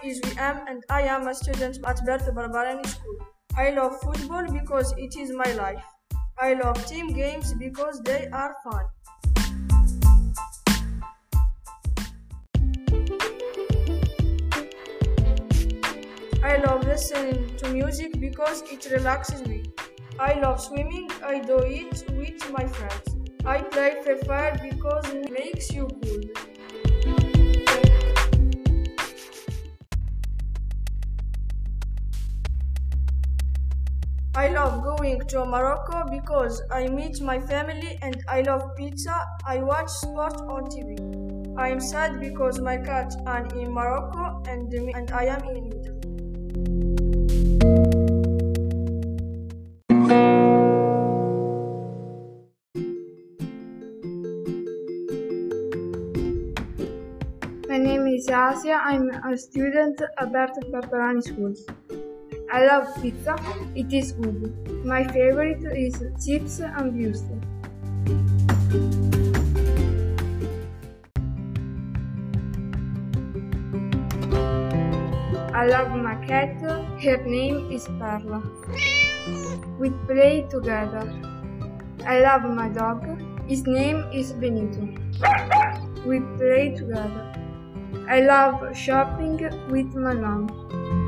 is VM and I am a student at Bert Barbarani School. I love football because it is my life. I love team games because they are fun. I love listening to music because it relaxes me. I love swimming. I do it with my friends. I play Free Fire because it makes you cool. I love going to Morocco because I meet my family and I love pizza. I watch sport on TV. I am sad because my cat are in Morocco and I am in Italy. My name is Asia. I'm a student at Bert Barbarani School. I love pizza. It is good. My favorite is chips and wurstel. I love my cat. Her name is Perla. We play together. I love my dog. His name is Benito. We play together. I love shopping with my mom.